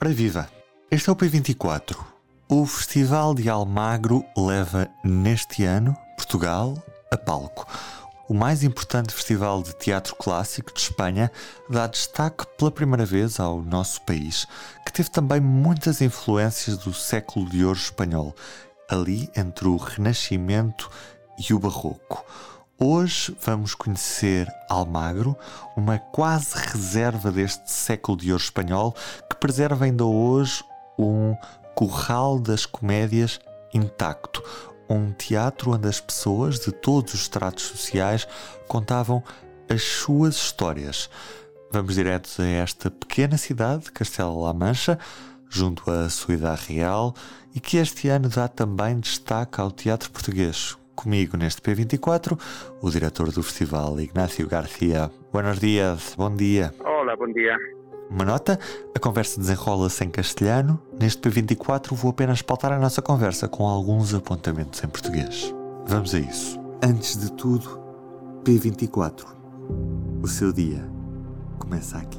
Ora viva! Este é o P24. O Festival de Almagro leva neste ano Portugal a palco. O mais importante festival de teatro clássico de Espanha dá destaque pela primeira vez ao nosso país, que teve também muitas influências do século de ouro espanhol, ali entre o Renascimento e o Barroco. Hoje vamos conhecer Almagro, uma quase reserva deste século de ouro espanhol que preserva ainda hoje um curral das comédias intacto. Um teatro onde as pessoas de todos os estratos sociais contavam as suas histórias. Vamos direto a esta pequena cidade, Castela-La Mancha, junto à Ciudad Real, e que este ano dá também destaque ao teatro português. Comigo neste P24, o diretor do festival, Ignacio García. Buenos días, bom dia. Olá, bom dia. Uma nota, a conversa desenrola-se em castelhano. Neste P24 vou apenas pautar a nossa conversa com alguns apontamentos em português. Vamos a isso. Antes de tudo, P24. O seu dia começa aqui.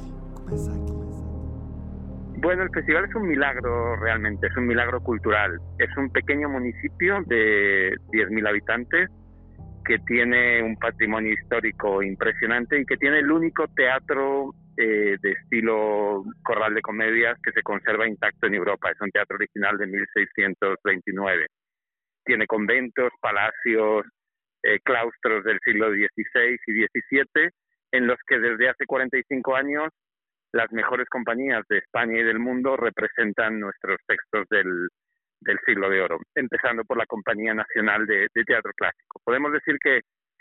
Bueno, el festival es un milagro realmente, es un milagro cultural. Es un pequeño municipio de 10.000 habitantes que tiene un patrimonio histórico impresionante y que tiene el único teatro de estilo corral de comedias que se conserva intacto en Europa. Es un teatro original de 1629. Tiene conventos, palacios, claustros del siglo XVI y XVII, en los que desde hace 45 años las mejores compañías de España y del mundo representan nuestros textos del siglo de oro, empezando por la Compañía Nacional de Teatro Clásico. Podemos decir que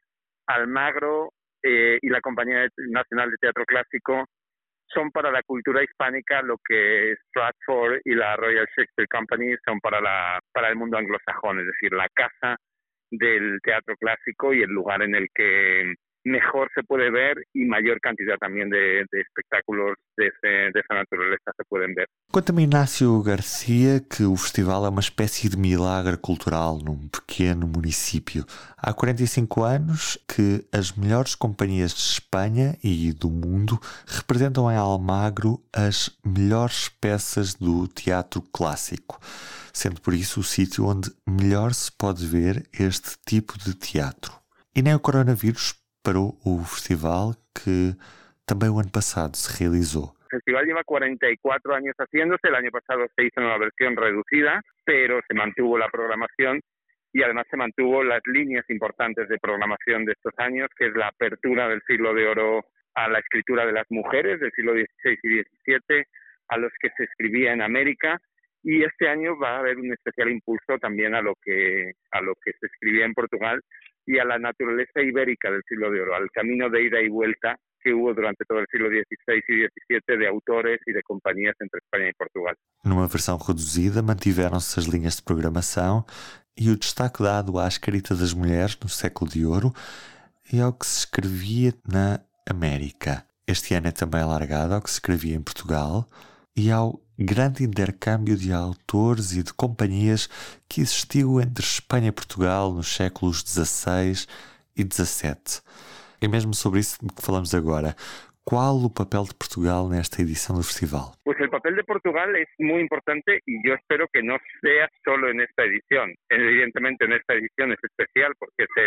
Almagro y la Compañía Nacional de Teatro Clásico son para la cultura hispánica lo que Stratford y la Royal Shakespeare Company son para el mundo anglosajón, es decir, la casa del teatro clásico y el lugar en el que mejor se puede ver y mayor cantidad también de espectáculos de esa naturaleza se pueden ver. Conta-me, Ignacio Garcia, que o festival é uma espécie de milagre cultural num pequeno município. Há 45 anos que as melhores companhias de Espanha e do mundo representam em Almagro as melhores peças do teatro clássico, sendo por isso o sítio onde melhor se pode ver este tipo de teatro. E nem o coronavírus parou o festival, que también el año pasado se realizó. El festival lleva 44 años haciéndose, el año pasado se hizo una versión reducida, pero se mantuvo la programación y además se mantuvo las líneas importantes de programación de estos años, que es la apertura del siglo de oro a la escritura de las mujeres del siglo XVI y XVII, a los que se escribía en América, y este año va a haber un especial impulso también a lo que se escribía en Portugal y a la naturaleza ibérica del siglo de oro, al camino de ida y vuelta que hubo durante todo el siglo XVI y XVII de autores e de companhias entre Espanha e Portugal. Numa versão reduzida, mantiveram-se as linhas de programação e o destaque dado à escrita das mulheres no século de ouro e ao que se escrevia na América. Este ano é também alargado ao que se escrevia em Portugal e ao grande intercâmbio de autores e de companhias que existiu entre Espanha e Portugal nos séculos XVI e XVII. É mesmo sobre isso que falamos agora. ¿Cuál o papel de Portugal nesta edición del festival? Pues el papel de Portugal es muy importante y yo espero que no sea solo en esta edición. Evidentemente en esta edición es especial porque es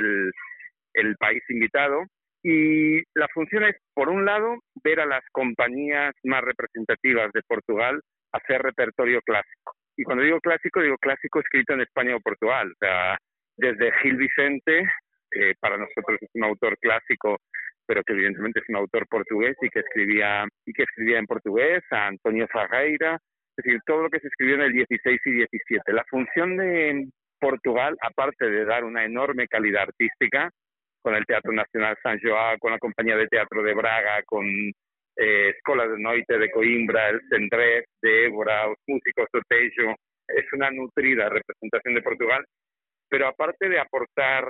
el país invitado y la función es, por un lado, ver a las compañías más representativas de Portugal hacer repertorio clásico. Y cuando digo clásico escrito en España o Portugal. O sea, desde Gil Vicente, para nosotros es un autor clásico, pero que evidentemente es un autor portugués y que escribía en portugués, a Antonio Ferreira, es decir, todo lo que se escribió en el XVI y XVII. La función de Portugal, aparte de dar una enorme calidad artística, con el Teatro Nacional San João, con la Compañía de Teatro de Braga, con Escola de Noite de Coimbra, el Cendrés de Évora, los músicos de Tejo, es una nutrida representación de Portugal, pero aparte de aportar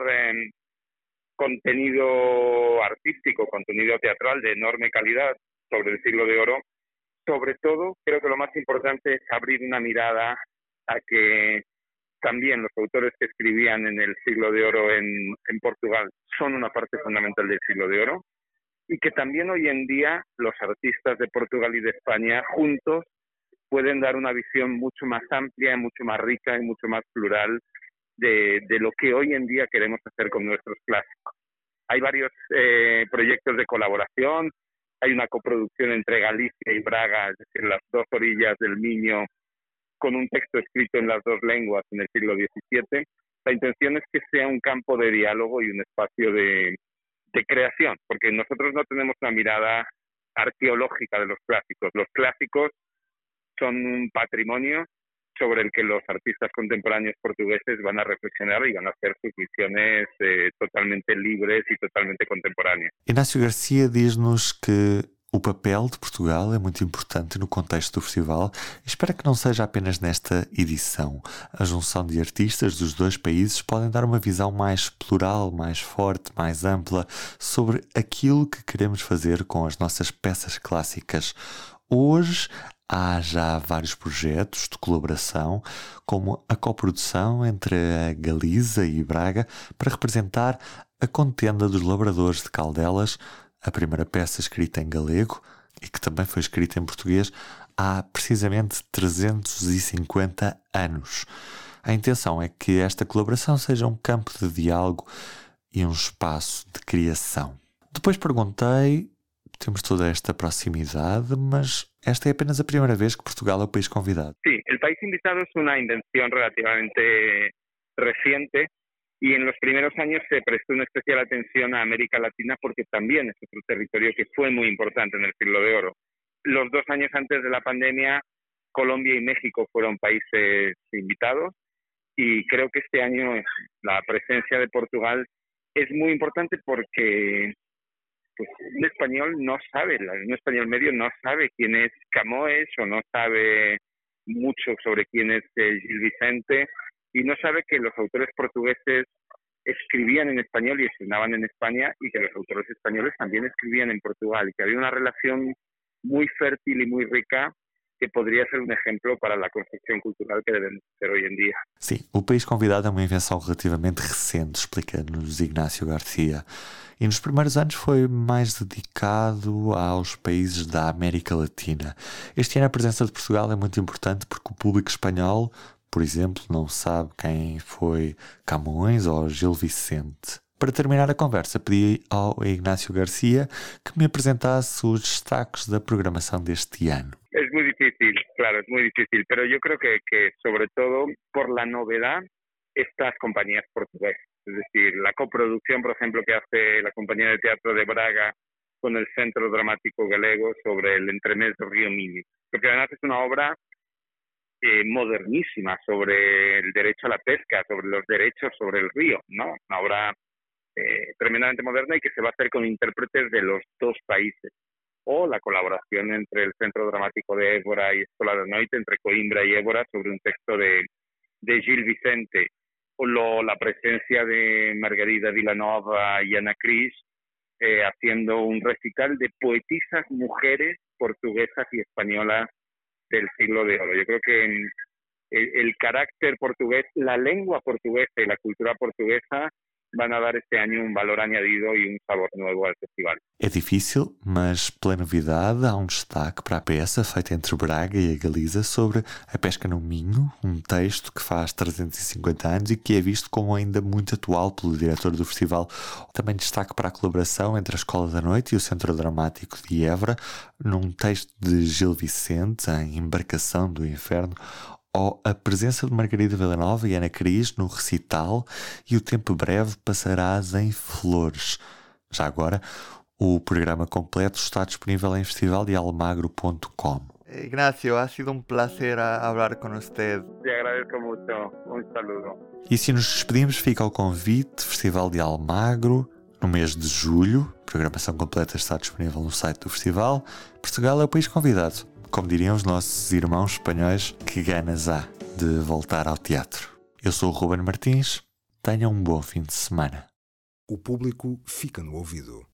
contenido artístico, contenido teatral de enorme calidad sobre el siglo de oro, sobre todo creo que lo más importante es abrir una mirada a que también los autores que escribían en el siglo de oro en Portugal son una parte fundamental del siglo de oro y que también hoy en día los artistas de Portugal y de España juntos pueden dar una visión mucho más amplia, mucho más rica y mucho más plural de lo que hoy en día queremos hacer con nuestros clásicos. Hay varios proyectos de colaboración, hay una coproducción entre Galicia y Braga, es decir, las dos orillas del Miño, con un texto escrito en las dos lenguas en el siglo XVII. La intención es que sea un campo de diálogo y un espacio de creación, porque nosotros no tenemos una mirada arqueológica de los clásicos. Los clásicos son un patrimonio sobre el que los artistas contemporáneos portugueses van a reflexionar y van a hacer sus visiones totalmente libres e totalmente contemporâneas. Inácio Garcia diz-nos que o papel de Portugal é muito importante no contexto do festival e espera que não seja apenas nesta edição. A junção de artistas dos dois países podem dar uma visão mais plural, mais forte, mais ampla sobre aquilo que queremos fazer com as nossas peças clássicas. Hoje há já vários projetos de colaboração, como a coprodução entre a Galiza e Braga para representar a Contenda dos Lavradores de Caldelas, a primeira peça escrita em galego e que também foi escrita em português há precisamente 350 anos. A intenção é que esta colaboração seja um campo de diálogo e um espaço de criação. Depois perguntei, temos toda esta proximidade, mas esta é apenas a primeira vez que Portugal é o país convidado. Sí, el país invitado es una invención relativamente reciente y en los primeros años se prestó una especial atención a América Latina porque también es otro territorio que fue muy importante en el Siglo de Oro. Los 2 años antes de la pandemia, Colombia y México fueron países invitados y creo que este año la presencia de Portugal es muy importante porque pues, un español no sabe, un español medio no sabe quién es Camões o no sabe mucho sobre quién es Gil Vicente y no sabe que los autores portugueses escribían en español y estrenaban en España y que los autores españoles también escribían en Portugal y que había una relación muy fértil y muy rica que poderia ser um exemplo para a construção cultural que devemos ter hoje em dia. Sim, o país convidado é uma invenção relativamente recente, explica-nos Ignácio Garcia. E nos primeiros anos foi mais dedicado aos países da América Latina. Este ano a presença de Portugal é muito importante porque o público espanhol, por exemplo, não sabe quem foi Camões ou Gil Vicente. Para terminar a conversa, pedi ao Ignácio Garcia que me apresentasse os destaques da programação deste ano. Es muy difícil, claro, es muy difícil, pero yo creo que sobre todo por la novedad estas compañías portuguesas, es decir, la coproducción, por ejemplo, que hace la Compañía de Teatro de Braga con el Centro Dramático Galego sobre el entremés del río Miño, porque además es una obra modernísima sobre el derecho a la pesca, sobre los derechos sobre el río, ¿no? Una obra tremendamente moderna y que se va a hacer con intérpretes de los dos países. O la colaboración entre el Centro Dramático de Évora y Escola da Noite, entre Coimbra y Évora, sobre un texto de Gil Vicente. O la presencia de Margarida Vilanova y Ana Cris haciendo un recital de poetisas mujeres portuguesas y españolas del siglo de oro. Yo creo que el carácter portugués, la lengua portuguesa y la cultura portuguesa van a dar este año um valor añadido e um sabor novo ao festival. É difícil, mas pela novidade há um destaque para a peça feita entre Braga e a Galiza sobre a pesca no Minho, um texto que faz 350 anos e que é visto como ainda muito atual pelo diretor do festival. Também destaque para a colaboração entre a Escola da Noite e o Centro Dramático de Évora, num texto de Gil Vicente, em Embarcação do Inferno, ou a presença de Margarida Vilanova e Ana Cris no recital e o tempo breve passarás em Flores. Já agora, o programa completo está disponível em festivaldealmagro.com. Ignacio, ha sido um placer falar com você. Te agradeço muito. Um saludo. E se nos despedimos, fica o convite, Festival de Almagro, no mês de julho. A programação completa está disponível no site do festival. Portugal é o país convidado. Como diriam os nossos irmãos espanhóis, que ganas há de voltar ao teatro. Eu sou o Ruben Martins, tenham um bom fim de semana. O público fica no ouvido.